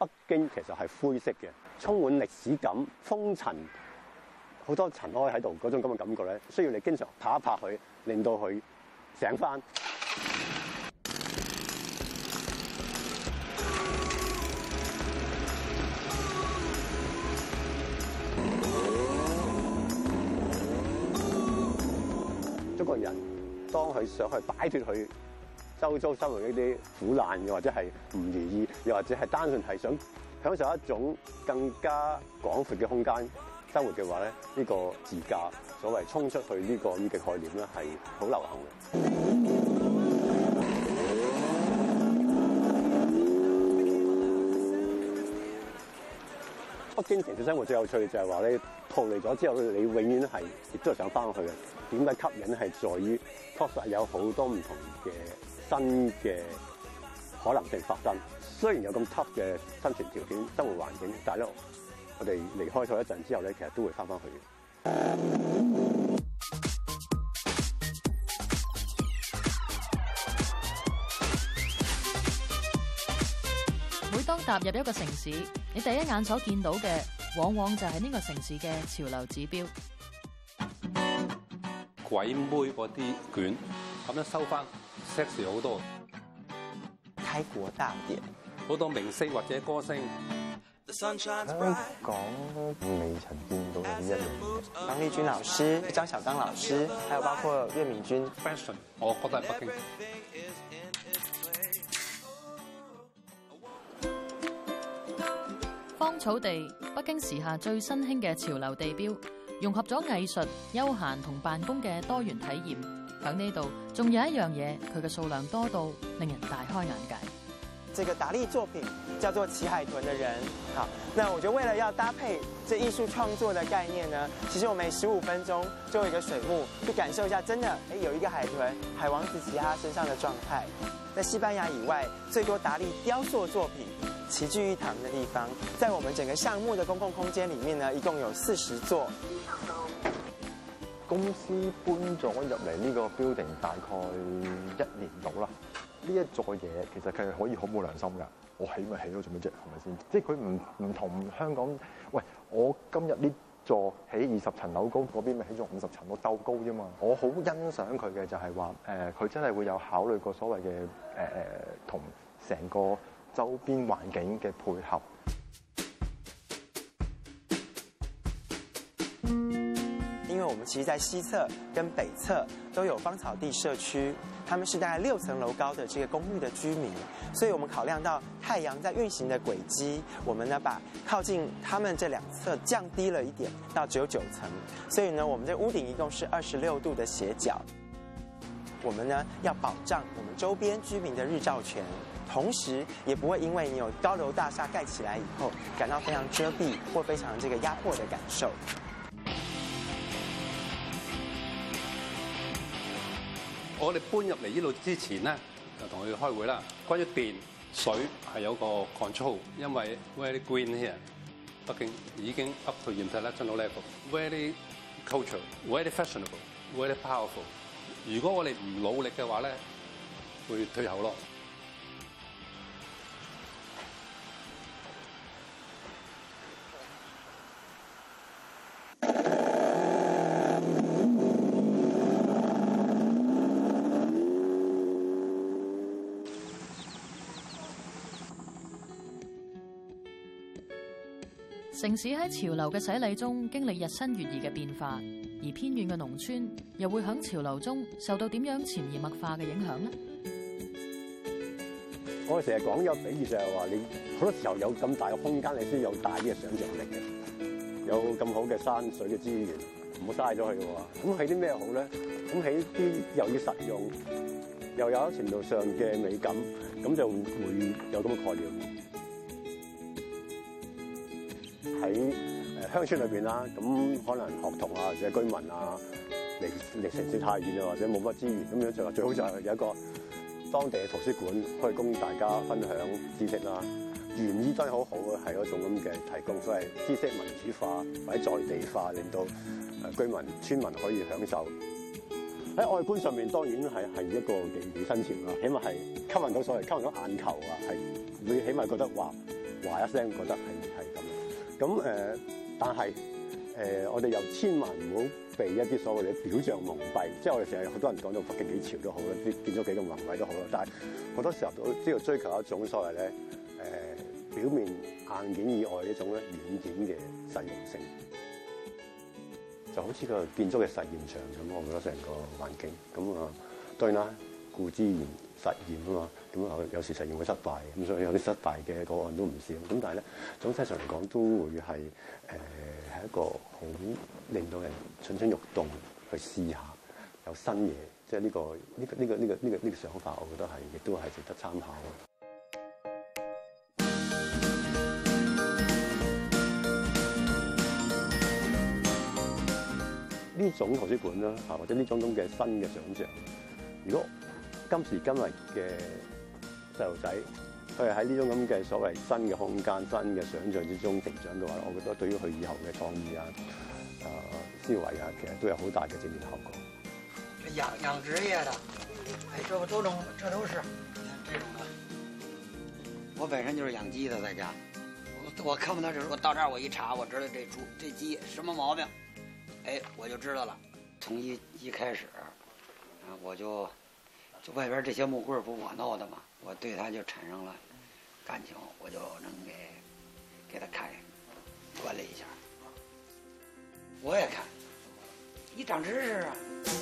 北京其實係灰色嘅，充滿歷史感、風塵，好多塵埃喺度嗰種咁嘅感覺咧，需要你經常拍一拍佢，令到佢醒翻。中國人當佢想去擺脫佢周遭生活呢啲苦難，又或者係唔如意，又或者係單純係想享受一種更加廣闊嘅空間生活嘅話咧，呢個自駕所謂衝出去呢個咁嘅概念咧係好流行嘅。北京城市生活最有趣嘅就係話咧，逃離咗之後，你永遠係亦都係想翻去嘅。點解吸引係在於確實有好多唔同嘅新嘅可能性發生。雖然有咁 tough 嘅生存條件、生活環境，但係咧，我哋離開咗一陣之後咧，其實都會翻返去嘅。 每當踏入一個城市，你第一眼所見到嘅，往往就係呢個城市嘅潮流指標。 鬼妹嗰啲卷咁樣收翻 sexy 好多， 開國大典， 好多明星或者歌星。 香港未曾見到嘅呢一樣嘢。張麗君老師、張曉剛老師，還有包括岳敏君 fashion， 我覺得係北京。 芳草地，北京時下最新興嘅潮流地標，融合咗藝術、休閒同辦公嘅多元體驗。喺呢度仲有一樣嘢，佢嘅數量多到令人大開眼界。 這個達利作品叫做《騎海豚的人》。好，那我覺得為了要搭配這藝術創作的概念呢，其實我每15分鐘就有一個水幕，去感受一下真的，有一個海豚，海王子騎在他身上的狀態。在西班牙以外，最多達利雕塑作品齊聚一堂的地方，在我們整個項目的公共空間裡面呢，一共有40座。 公司搬咗入嚟呢個 building 大概1年到啦。呢一座嘢其實佢係可以好冇良心㗎。我起咪起咯，做咩啫？係咪先？即係佢唔同香港。喂，我今日呢座起20層樓高，嗰邊咪起咗50層樓鬥高啫嘛。我好欣賞佢嘅就係話佢真係會有考慮過所謂嘅同成個周邊環境嘅配合。 因為我們其實在西側跟北側都有芳草地社區，他們是大概6層樓高的這個公寓的居民，所以我們考量到太陽在運行的軌跡，我們呢把靠近他們這兩側降低了一點，到只有9層，所以呢我們這屋頂一共是26度的斜角。我們呢要保障我們周邊居民的日照權，同時也不會因為你有高樓大廈蓋起來以後，感到非常遮蔽或非常這個壓迫的感受。 我哋搬入嚟呢度之前咧，就同佢哋開會啦。關於電水係有個 control， 因為 very green here， 北京已經 up to international level，very cultural，very fashionable，very powerful。如果我哋唔努力嘅話咧，會退後咯。 城市喺潮流嘅洗禮中經歷日新月異嘅變化，而偏遠嘅農村又會喺潮流中受到點樣潛移默化嘅影響呢？ 我哋成日講有比喻就係話，你好多時候有咁大嘅空間，你先有大啲嘅想像力嘅。有咁好嘅山水嘅資源，唔好嘥咗佢嘅喎。咁起啲咩好咧？咁起啲又要實用，又有程度上嘅美感，咁就會有咁嘅概念。喺鄉村裏邊啦，咁可能學童啊或者居民啊離城市太遠啊，或者冇乜資源，咁樣就話最好就係有一個當地嘅圖書館，可以供大家分享知識啦。原意真係好好嘅，係一種咁嘅提供，所謂知識民主化或者在地化，令到居民村民可以享受。喺外觀上面當然係一個幾新潮啦，起碼係吸引到眼球啊，係會起碼覺得話話一聲，覺得係咁。咁但係我哋又千萬唔好被一啲所謂嘅表象蒙蔽，即係我哋成日好多人講到北京幾潮都好啦，啲建築幾咁宏偉都好啦，但係好多時候都要追求一種所謂咧表面硬件以外呢種咧軟件嘅實用性，就好似個建築嘅實驗場咁，我覺得成個環境咁啊，當然啦，顧之言實驗啊嘛，咁有時實驗會失敗，咁所以有啲失敗嘅個案都唔少，咁但係咧總體上嚟講都會係係一個好令到人蠢蠢欲動去試下有新嘢，即係呢個想法，我覺得係亦都係值得參考嘅。呢種圖書館啦，或者呢種咁嘅新嘅想像，如果今時今日嘅細路仔，佢係喺呢種咁嘅所謂新嘅空間、新嘅想像之中成長嘅話，我覺得對於佢以後嘅創意啊、思維啊，其實都有好大嘅正面效果。 養殖業的，這都是這種的。我本身就是養雞的，在家，我看不到這，我到這兒我一查，我知道這雞什麼毛病。我就知道了。從一開始，我就外邊這些木棍不我弄的嘛，我對它就產生了感情，我就能給它看管理一下。我也看，你長知識啊。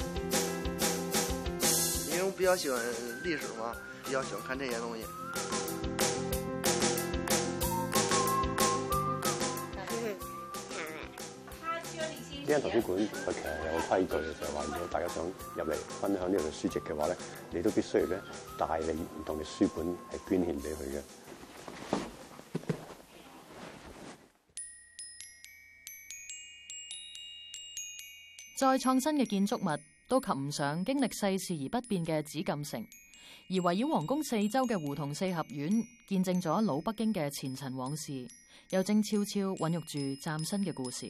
因為我比較喜歡歷史嘛，比較喜歡看這些東西。 呢間圖書館佢其實有個規矩嘅，就係話，如果大家想入嚟分享呢度書籍嘅話咧，你都必須要咧帶你唔同嘅書本係捐獻俾佢嘅。 再創新嘅建築物都及唔上經歷世事而不變嘅紫禁城，而圍繞皇宮四周嘅胡同四合院，見證咗老北京嘅前塵往事，又正悄悄孕育住嶄新嘅故事。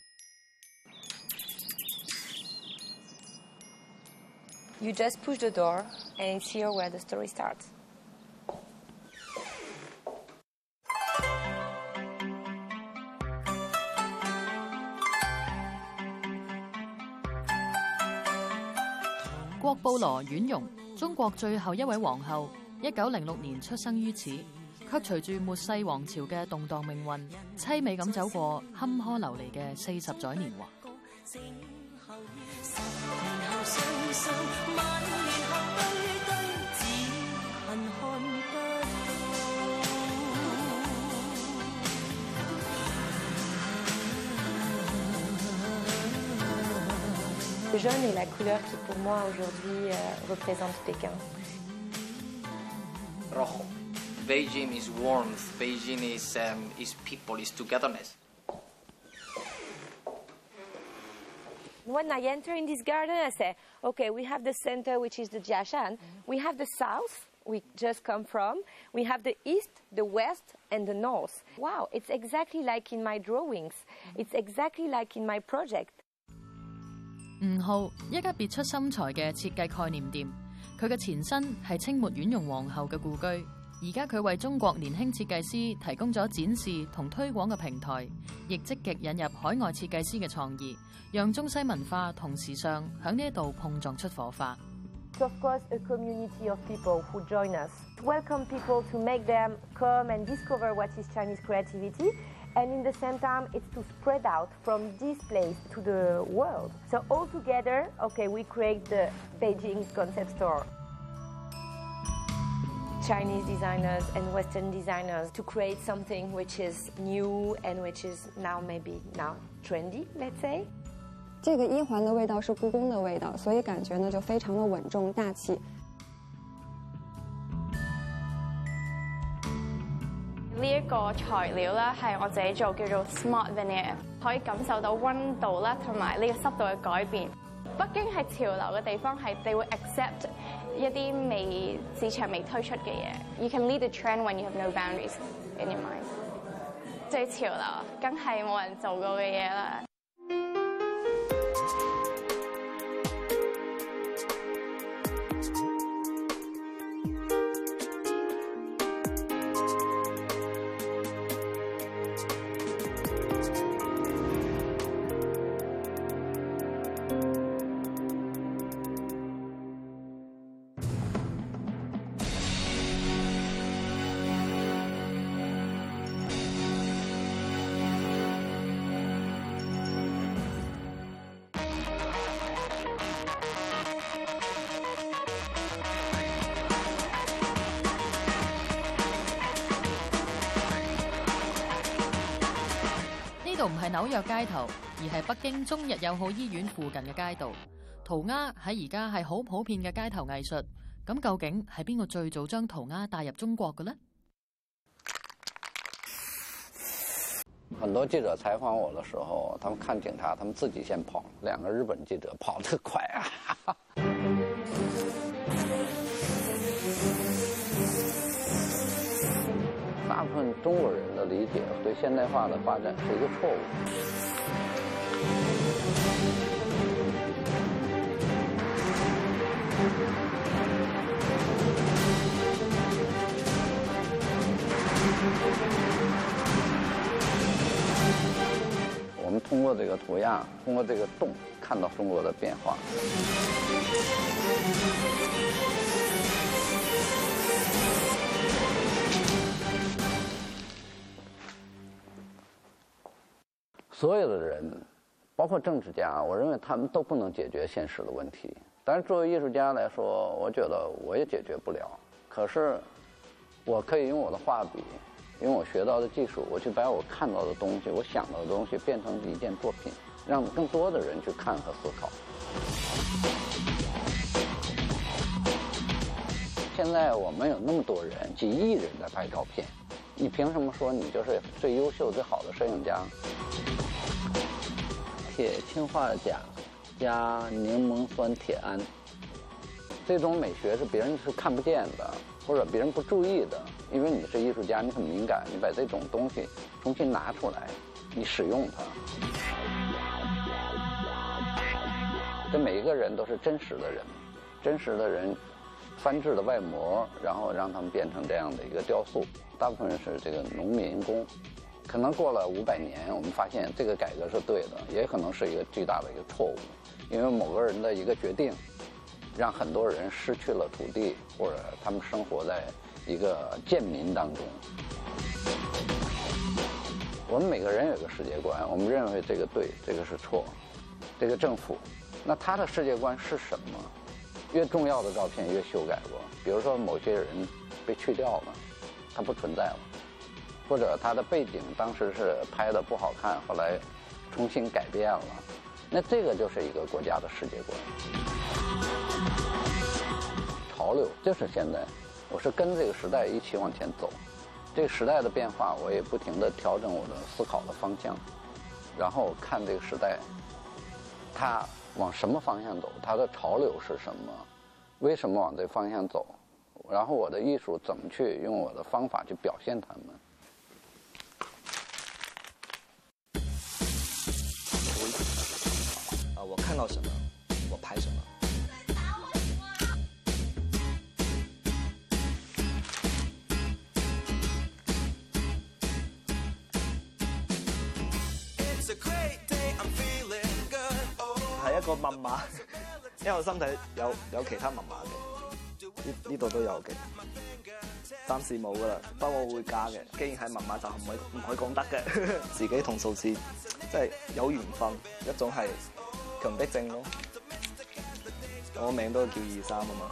You just push the door, and it's here where the story starts. 《郭布羅婉容》，中國最後一位皇后，1906年出生於此，卻隨住末世王朝嘅動盪命運，凄美咁走過坎坷流離嘅40載年華。 Le jaune est la couleur qui, pour moi, aujourd'hui, représente Pékin. Rojo. Beijing is warmth. Beijing is people, is togetherness. When I enter in this garden, I say, okay, we have the center, which is the Jiashan. We have the south, we just come from. We have the east, the west, and the north. Wow, it's exactly like in my drawings. It's exactly like in my project. 吳浩，一家別出心裁嘅設計概念店，佢嘅前身係清末婉容皇后嘅故居，而家佢為中國年輕設計師提供咗展示同推廣嘅平台，亦積極引入海外設計師嘅創意，讓中西文化同時尚喺呢一度碰撞出火花。 It's of course a community of people who join us. Welcome people to make them come and discover what is Chinese creativity. And in the same time, it's to spread out from this place to the world. So all together, okay, we create the Beijing concept store. Chinese designers and Western designers to create something which is new and which is now maybe trendy, let's say. 这个1环的味道是故宫的味道，所以感觉呢就非常的稳重大气。 呢一個材料咧係我自己做，叫做 Smart Veneer， 可以感受到溫度啦同埋呢個濕度嘅改變。北京係潮流嘅地方，係你會 accept 一啲市場未推出嘅嘢。You can lead the trend when you have no boundaries in your mind。最潮流，梗係冇人做過嘅嘢啦。 度唔係紐約街頭，而係北京中日友好醫院附近嘅街道。塗鴉喺而家係好普遍嘅街頭藝術。咁究竟係邊個最早將塗鴉帶入中國嘅呢？ 很多記者採訪我的時候，他們看警察，他們自己先跑。兩個日本記者跑得快啊！大部分中國人的理解對現代化的發展是一個錯誤。我們通過這個塗鴉，通過這個洞，看到中國的變化。所有的人，包括政治家，我認為他們都不能解決現實的問題。但是作為藝術家來說，我覺得我也解決不了。可是，我可以用我的畫筆，用我學到的技術，我去把我看到的東西，我想到的東西變成一件作品，讓更多的人去看和思考。現在我們有那麼多人，幾億人在拍照片，你憑什麼說你就是最優秀、最好的攝影家？鐵氰化鉀加檸檬酸鐵胺，這種美學是別人是看不見的，或者別人不注意的。因為你是藝術家，你很敏感，你把這種東西重新拿出來，你使用它。這每一個人都是真實的人，真實的人翻製的外模，然後讓他們變成這樣的一個雕塑。大部分人是這個農民工。可能過了500年，我們發現這個改革是對的，也可能是一個巨大的一個錯誤，因為某個人的一個決定，讓很多人失去了土地，或者他們生活在一個賤民當中。我們每個人有個世界觀，我們認為這個對，這個是錯，這個政府，那他的世界觀是什麼？越重要的照片越修改過，比如說某些人被去掉了，他不存在了。或者他的背景當時是拍得不好看，後來重新改變了，那這個就是一個國家的世界觀。潮流就是現在，我是跟這個時代一起往前走，這個時代的變化，我也不停地調整我的思考的方向，然後看這個時代，它往什麼方向走，它的潮流是什麼，為什麼往這方向走，然後我的藝術怎麼去用我的方法去表現它們。 我看到什麼，我拍什麼。係一個密碼，因為我身體有其他密碼嘅，呢度都有嘅，暫時冇噶啦，不過我會加嘅。既然係密碼，就唔可以講得嘅。自己同數字即係有緣分，一種係強迫症咯。我名都叫23啊嘛。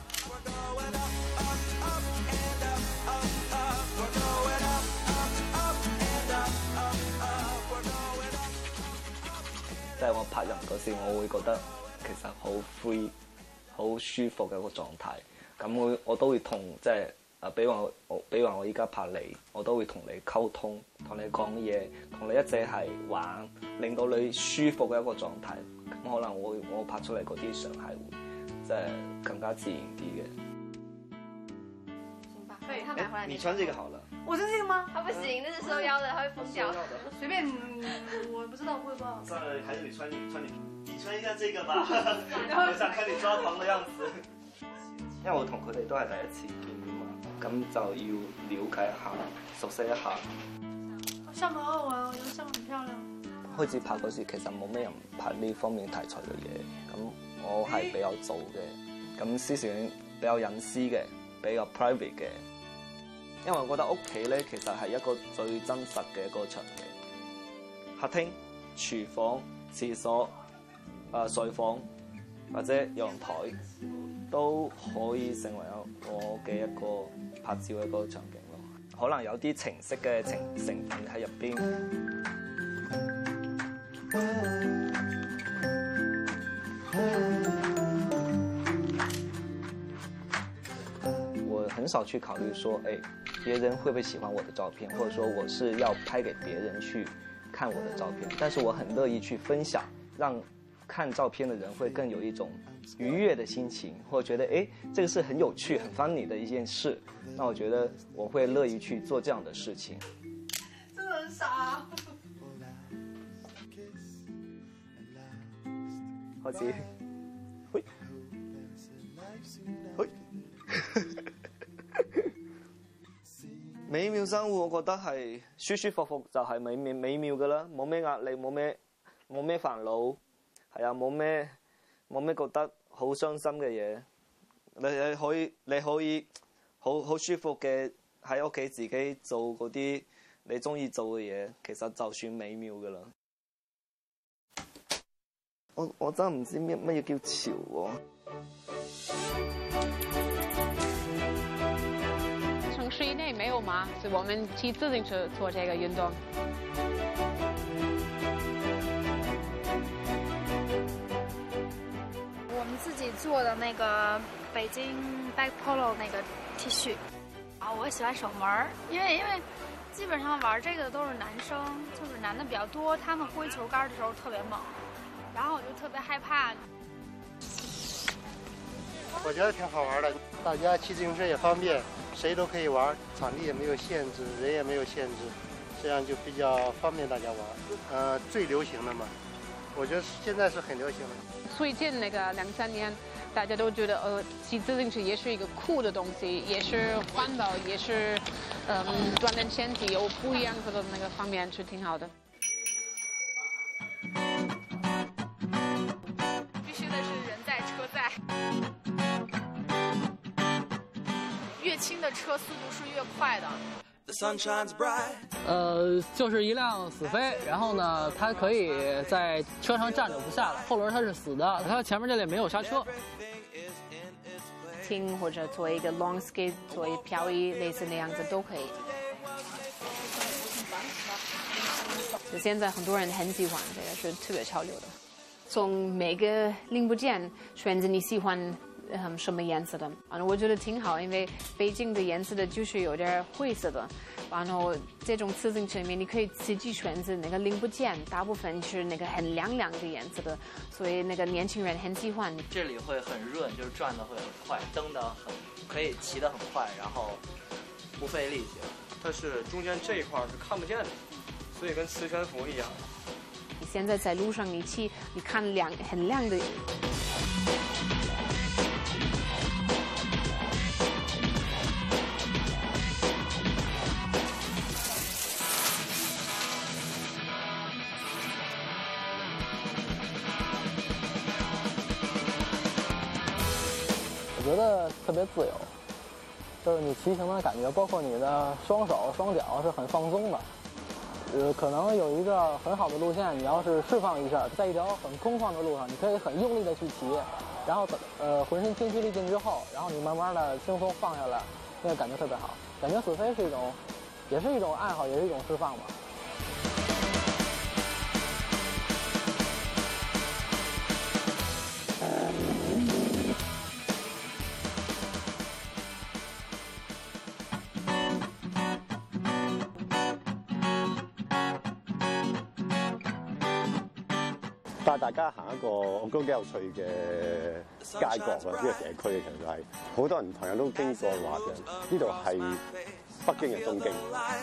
即係我拍人嗰時，我會覺得其實好 free、好舒服嘅一個狀態。咁我都會同即係比如話我依家拍你，我都會同你溝通，同你講嘢，同你一齊係玩，令到你舒服嘅一個狀態。咁可能我拍出嚟嗰啲相係會即係更加自然啲嘅。 行吧，不如他買回來你穿這個好了。 我穿這個嗎？他不行，那是收腰的，他會瘋掉。隨便，我不知道會不好。 算了，還是你穿一下這個吧。我想看你抓狂的樣子。因為我同佢哋都係第一次見面嘛，咁就要了解一下、熟悉一下。 項目好好玩，我覺得項目很漂亮。 開始拍嗰時，其實冇咩人拍呢方面題材嘅嘢，咁我係比較早嘅，咁思想比較隱私嘅，比較 private 嘅。因為我覺得屋企咧，其實係一個最真實嘅一個場景。客廳、廚房、廁所、睡房或者陽台都可以成為我嘅一個拍照嘅一個場景咯。可能有啲情色嘅成分喺入邊。 我很少去考虑说，哎，别人会不会喜欢我的照片，或者说我是要拍给别人去看我的照片，但是我很乐意去分享，让看照片的人会更有一种愉悦的心情，或者觉得哎，这个是很有趣、很 funny 的一件事，那我觉得我会乐意去做这样的事情。 真的很傻。 開始，喂，喂，美妙生活，我覺得係舒舒服服就係美妙㗎啦，冇咩壓力，冇咩煩惱，係啊，冇咩覺得好傷心嘅嘢，你可以好舒服嘅喺屋企自己做嗰啲你中意做嘅嘢，其實就算美妙㗎啦。我真係唔知乜嘢叫潮喎。 城市以內沒有嗎？所以我們騎自行車做這個運動。 我們自己做的那個北京 Back Polo 那個 T 恤。啊，我喜歡守門，因為基本上玩這個的都是男生，就是男的比較多，他們揮球桿的時候特別猛。然後我就特別害怕。 我覺得挺好玩的，大家騎自行車也方便，誰都可以玩，場地也沒有限制，人也沒有限制，這樣就比較方便大家玩。最流行的嘛，我覺得現在是很流行的。 最近那個2-3年，大家都覺得騎自行車也是一個酷的東西，也是環保，也是鍛鍊身體，有不一樣的那個方面是挺好的。 越轻的车速度是越快的。 就是一辆死飞，然后呢，它可以在车上站着不下来，后轮它是死的，它前面这里没有刹车。 轻或者做一個 long skate， 做一漂移，類似那樣子都可以。就現在很多人很喜歡這個，是特別潮流的。從每個零部件選擇你喜歡什麼顏色的，然後我覺得挺好，因為北京的顏色的就是有點灰色的，然後這種自行車裡面你可以自己選擇那個零部件，大部分是那個很亮的顏色的，所以那個年輕人很喜歡。 這裡會很潤，就是轉得會很快，蹬得很，可以騎得很快，然後不費力氣。 它是中間這一塊是看不見的，所以跟磁懸浮一樣。 你現在在路上你騎，你看很亮的。 我觉得特别自由，就是你骑行的感觉，包括你的双手、双脚是很放松的。可能有一个很好的路线，你要是释放一下，在一条很空旷的路上，你可以很用力的去骑，然后浑身精疲力尽之后，然后你慢慢的轻松放下来，那个感觉特别好。感觉死飞是一种，也是一种爱好，也是一种释放吧。 帶大家行一個我覺得幾有趣嘅街角啊，呢個社區其實係好多人朋友都經過話嘅，呢度係北京嘅東京。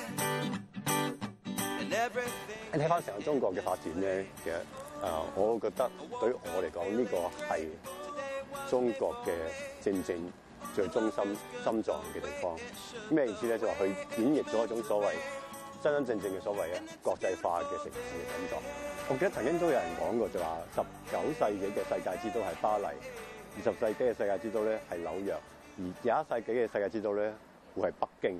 你睇翻成個中國嘅發展咧，其實我覺得對於我嚟講，呢個係中國嘅正最中心臟嘅地方。咩意思咧？就話佢演繹咗一種所謂真正嘅所謂國際化嘅城市嘅感覺。我記得曾經都有人講過，就話19世紀嘅世界之都係巴黎，20世紀嘅世界之都咧係紐約，而21世紀嘅世界之都咧會係北京。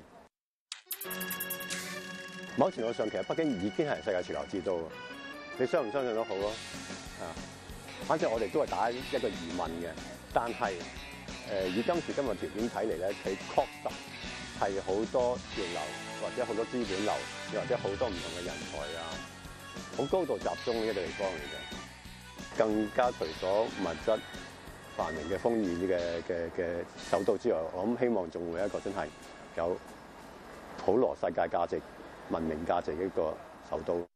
某程度上，其實北京已經係世界潮流之都，你相唔相信都好咯。反正我哋都係打一個疑問嘅，但係以今時今日條件睇嚟咧，佢確實係好多潮流或者好多資本流，又或者好多唔同嘅人才啊。 好高度集中嘅一個地方嚟嘅，更加除咗物質繁榮嘅豐裕嘅首都之外，我諗希望仲會一個真係有普羅世界價值、文明價值嘅一個首都。